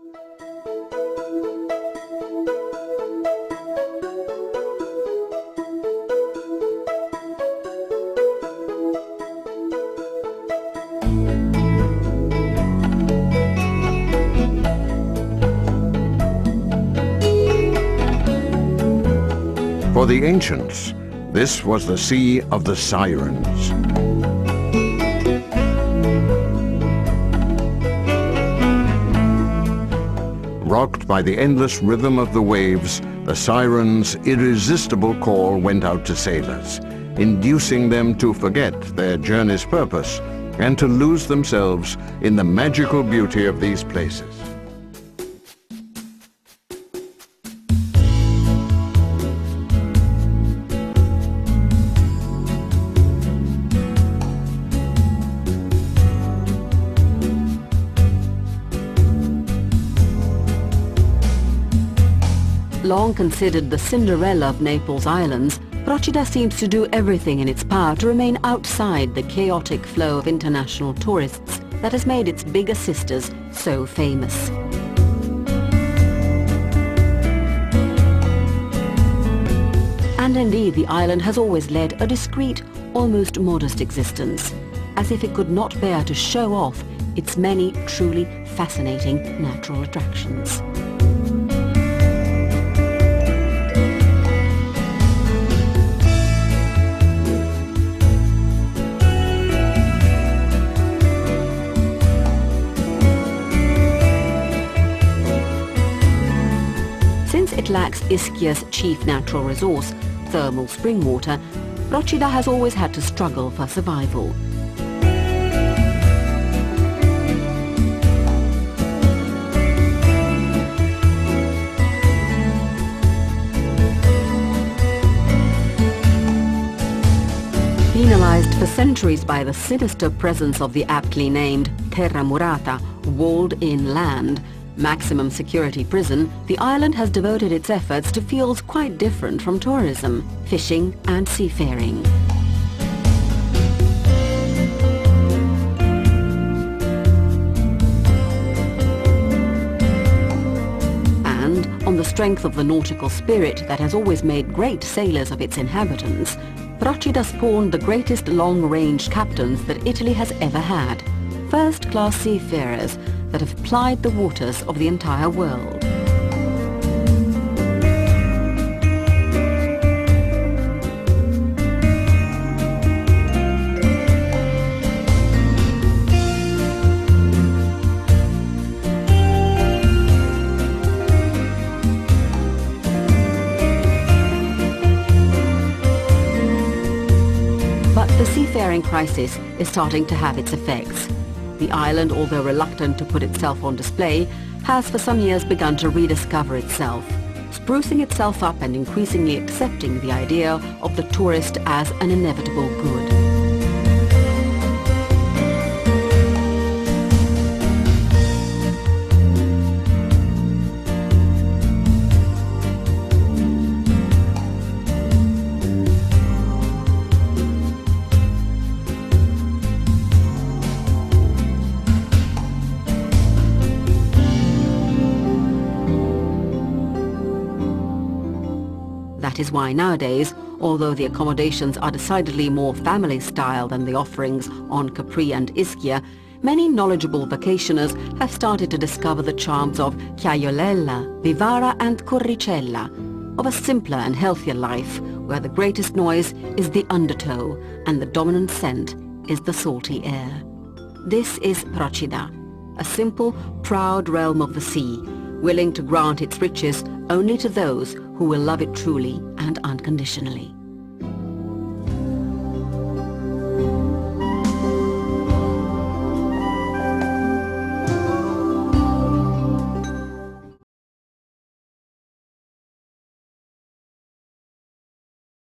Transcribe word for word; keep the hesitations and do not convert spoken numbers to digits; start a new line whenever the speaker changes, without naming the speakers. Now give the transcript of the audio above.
For the ancients, this was the Sea of the Sirens. Rocked by the endless rhythm of the waves, the Sirens' irresistible call went out to sailors, inducing them to forget their journey's purpose and to lose themselves in the magical beauty of these places.
Long considered the Cinderella of Naples Islands, Procida seems to do everything in its power to remain outside the chaotic flow of international tourists that has made its bigger sisters so famous. And indeed, the island has always led a discreet, almost modest existence, as if it could not bear to show off its many truly fascinating natural attractions. Since it lacks Ischia's chief natural resource, thermal spring water, Procida has always had to struggle for survival. Penalized for centuries by the sinister presence of the aptly named Terra Murata, walled-in land, maximum security prison, the island has devoted its efforts to fields quite different from tourism, fishing and seafaring. And on the strength of the nautical spirit that has always made great sailors of its inhabitants, Procida spawned the greatest long-range captains that Italy has ever had, first-class seafarers that have plied the waters of the entire world. But the seafaring crisis is starting to have its effects. The island, although reluctant to put itself on display, has for some years begun to rediscover itself, sprucing itself up and increasingly accepting the idea of the tourist as an inevitable good. That is why nowadays, although the accommodations are decidedly more family style than the offerings on Capri and Ischia, many knowledgeable vacationers have started to discover the charms of Chiaiolella, Vivara and Corricella, of a simpler and healthier life where the greatest noise is the undertow and the dominant scent is the salty air. This is Procida, a simple, proud realm of the sea, willing to grant its riches only to those who will love it truly and unconditionally.